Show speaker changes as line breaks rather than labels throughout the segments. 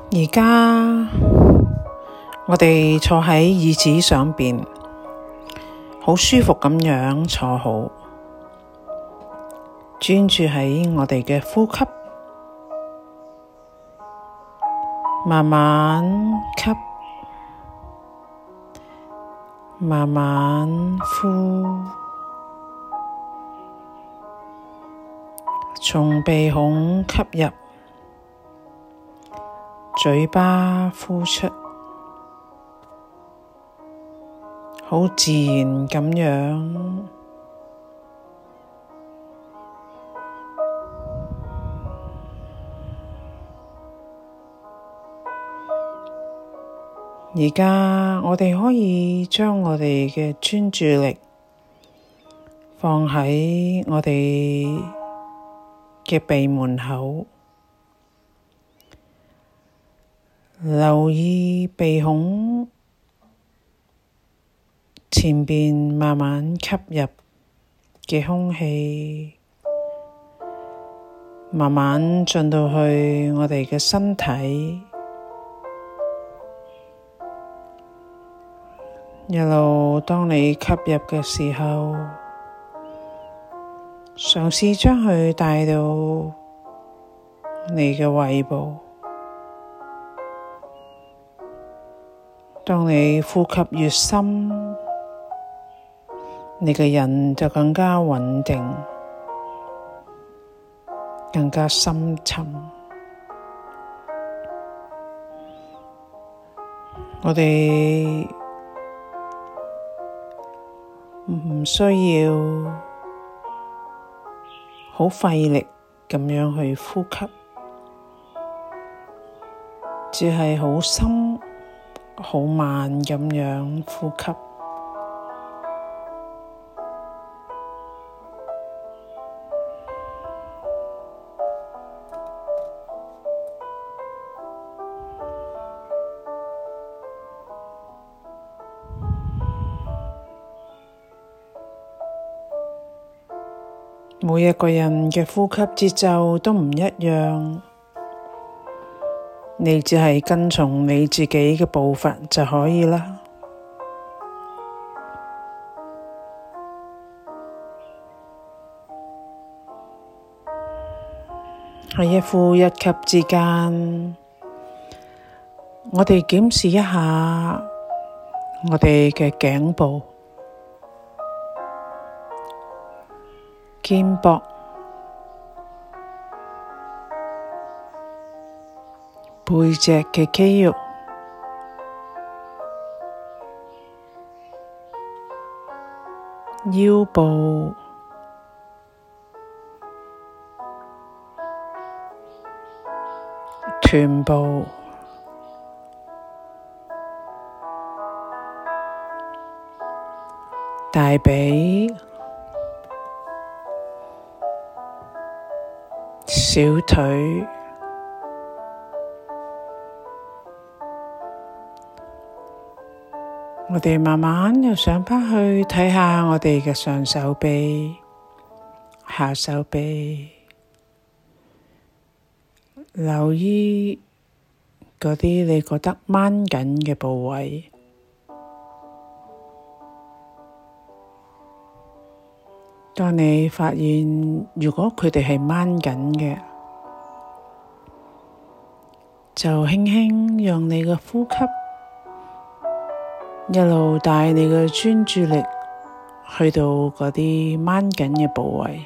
而家我哋坐喺椅子上邊，好舒服咁樣坐好，專注喺我哋嘅呼吸，慢慢吸，慢慢呼，從鼻孔吸入，嘴巴呼出，好自然咁樣。而家我哋可以將我哋嘅專注力放喺我哋嘅鼻門口，留意鼻孔前邊慢慢吸入嘅空氣，慢慢進到去我哋嘅身體，一路當你吸入嘅時候，嘗試將佢帶到你嘅胃部。當你呼吸越深，你嘅人就更加穩定，更加深沉。我哋唔需要好費力咁樣去呼吸，只係好深、好慢咁樣呼吸。每一個人嘅呼吸節奏都唔一樣，你只係跟從你自己嘅步伐就可以啦。喺一呼一吸之間，我哋檢視一下我哋嘅頸部、肩膊、背脊嘅肌肉、腰部、臀部、大髀、小腿、我哋慢慢又上返去睇下我哋嘅上手臂、下手臂，留意嗰啲你覺得掹緊嘅部位。當你發現如果佢哋係掹緊嘅，就輕輕讓你嘅呼吸一路帶你嘅專注力去到嗰啲掹緊嘅部位，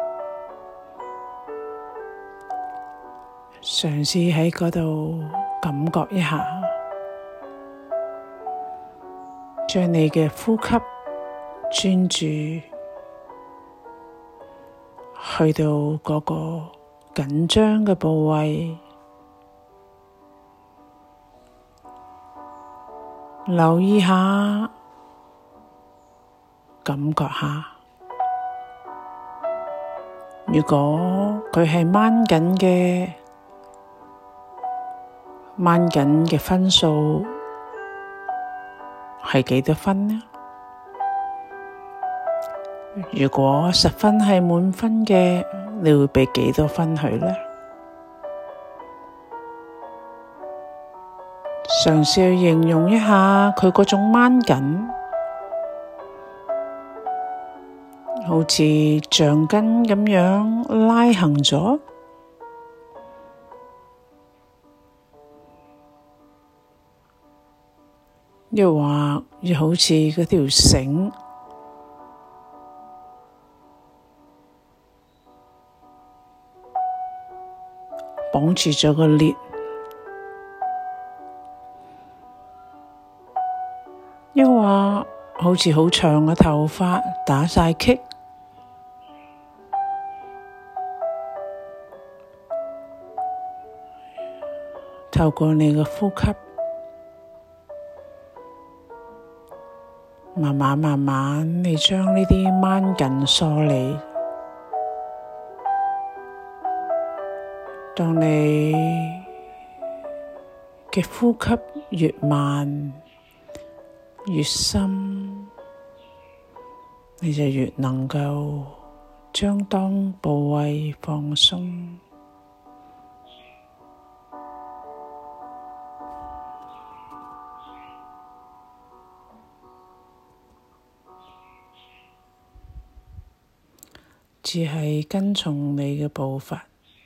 嘗試喺嗰度感覺一下，將你嘅呼吸專注去到嗰個緊張嘅部位，留意下，感覺下。如果佢係掹緊嘅分數係幾多分呢？如果10分係滿分嘅，你會畀幾多分佢呢？ 嘗試去形容一下佢嗰種掹緊，好似橡筋咁樣拉行咗，又或又好似嗰條繩綁住咗個裂，又或好似好長嘅頭髮打晒結，透過你嘅呼吸，慢慢你將呢啲掹緊梳理。當你嘅呼吸越慢越深，你就越能夠將當部位放鬆。只係跟從你嘅步伐，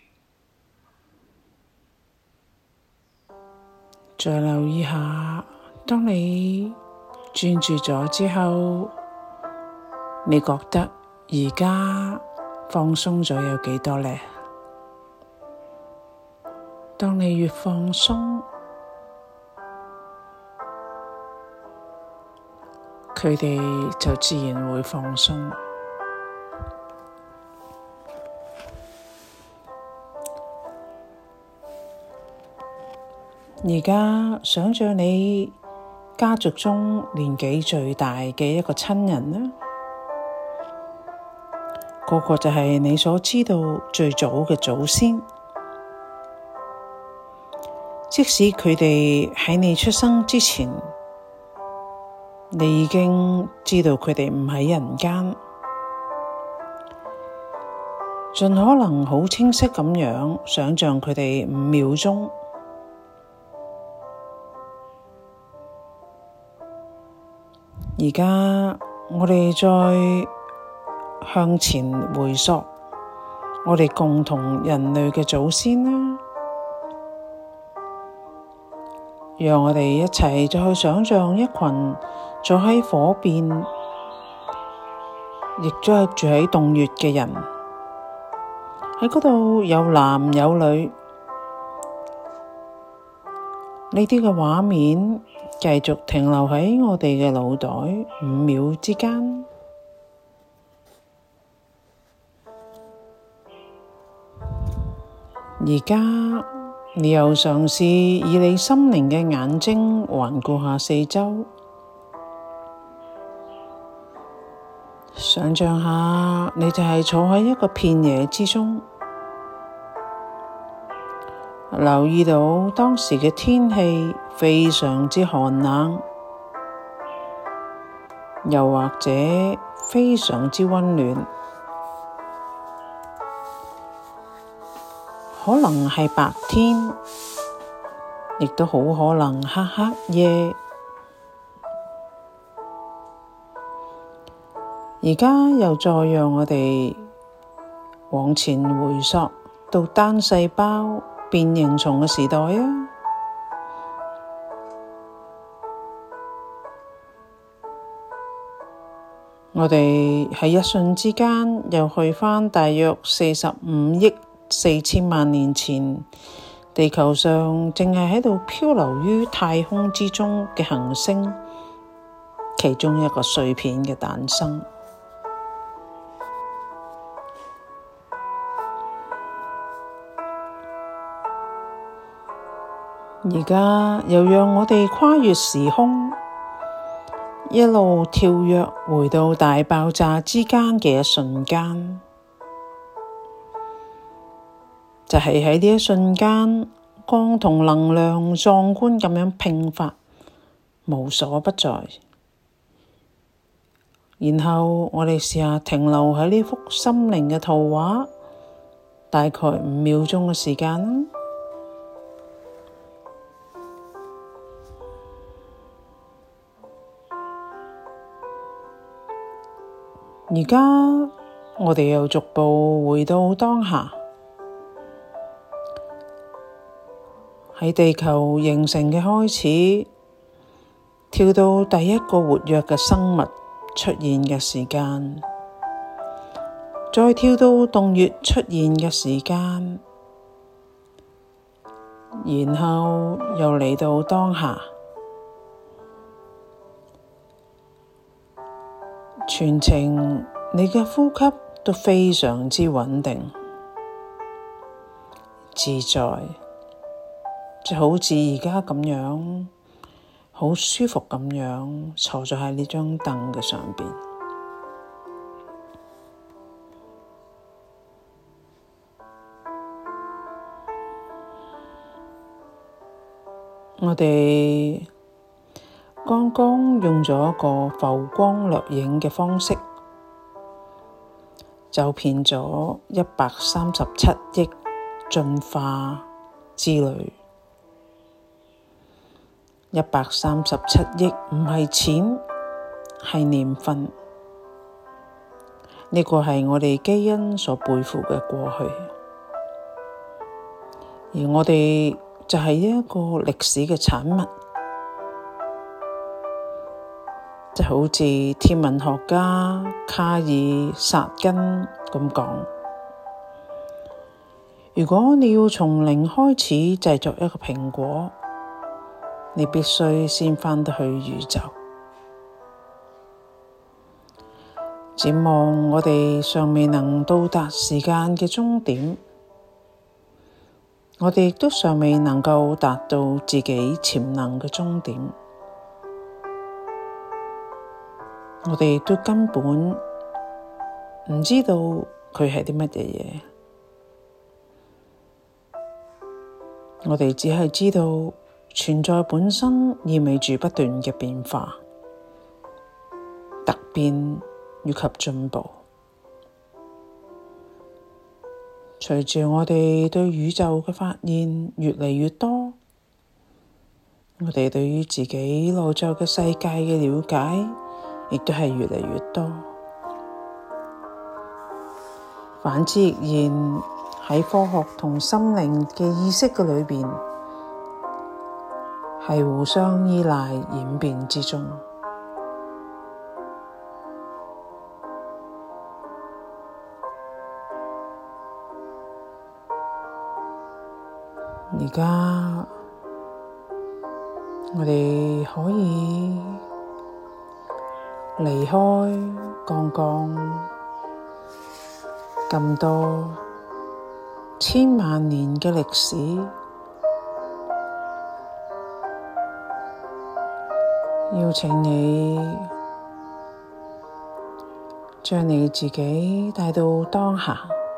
再留意下，當你專注咗之後，你覺得而家放鬆咗有幾多呢？當你越放鬆，佢哋就自然會放鬆。而家想象你家族中年紀最大嘅一個親人啦，嗰個就係你所知道最早嘅祖先。即使佢哋喺你出生之前，你已經知道佢哋唔喺人間，盡可能好清晰咁樣想象佢哋5秒鐘。而家我哋再向前回溯，我哋共同人類嘅祖先啦，讓我哋一齊再去想象一群坐喺火邊，亦都係住喺洞穴嘅人，喺嗰度有男有女，呢啲嘅畫面繼續停留喺我哋嘅腦袋5秒之間。而家你又嘗試以你心靈嘅眼睛環顧下四周，想象下你就係坐喺一個片野之中，留意到當時嘅天氣非常之寒冷，又或者非常之溫暖，可能係白天，亦都好可能係黑夜。而家又再讓我哋往前回溯到單細胞變形蟲嘅時代啊！我哋喺一瞬之間又去返大約45億4千萬年前，地球上正係喺度漂流於太空之中嘅行星，其中一個碎片嘅誕生。而家又讓我哋跨越時空，一路跳躍回到大爆炸之間嘅一瞬間，就係喺呢一瞬間，光同能量壯觀咁樣迸發，無所不在。然後我哋試下停留喺呢幅心靈嘅圖畫，大概5秒鐘嘅時間。 而家我哋又逐步回到當下，喺地球形成嘅開始，跳到第一個活躍嘅生物出現嘅時間，再跳到洞穴出現嘅時間，然後又嚟到當下，全程你嘅呼吸都非常之穩定、自在，就好似而家咁樣，好舒服咁樣坐咗喺呢張凳嘅上邊。我哋剛剛用咗一個浮光掠影嘅方式，走遍咗137億進化之旅。137億唔係錢，係年份。呢個係我哋基因所背負嘅過去，而我哋就係一個歷史嘅產物。就好似天文學家卡爾薩根咁講，如果你要從零開始製作一個蘋果，你必須先返到去宇宙。展望我哋尚未能到達時間嘅終點，我哋亦都尚未能夠達到自己潛能嘅終點。我哋都根本唔知道佢係啲乜嘢嘢，我哋只係知道存在本身意味住不斷嘅變化、突變以及進步。隨住我哋對宇宙嘅發現越嚟越多，我哋對於自己內在嘅世界嘅了解亦都係越嚟越多。反之亦然，喺科學同心靈嘅意識嘅裏邊，係互相依賴演變之中。而家我哋可以離開剛剛咁多千萬年嘅歷史，邀請你將你自己帶到當下，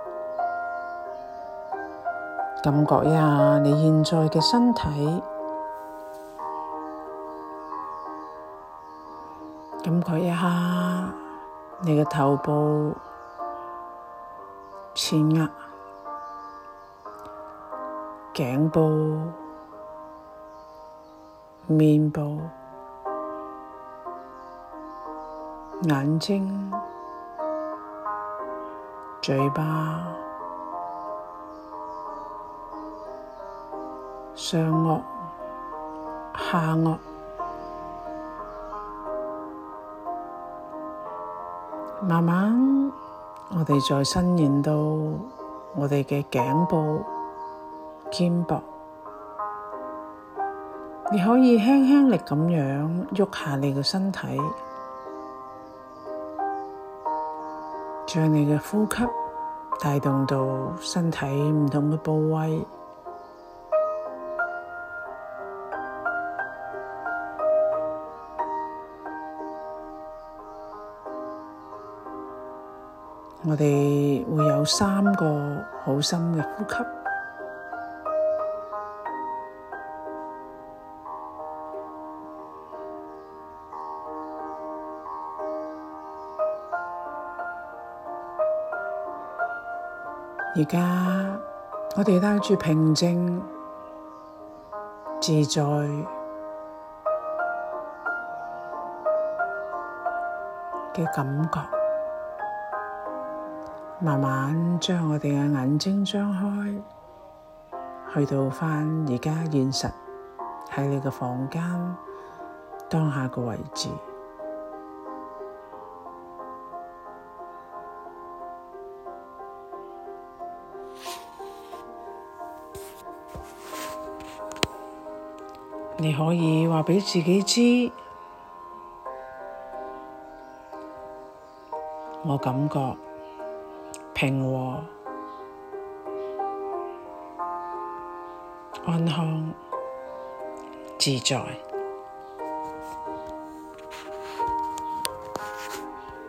感覺一下你現在嘅身體，感覺一下你嘅頭部、前額、頸部、面部、眼睛、嘴巴、上顎、下顎，慢慢我哋再伸延到我哋嘅頸部、肩膊，你可以輕輕力咁樣喐下你嘅身體，將你嘅呼吸帶動到身體唔同嘅部位。我哋會有3個好深嘅呼吸，而家我哋帶住平靜、自在嘅感覺， 慢慢將我哋嘅眼睛張開，去到返而家現實喺你嘅房間當下嘅位置。你可以話畀自己知，我感覺平和、安康、自在。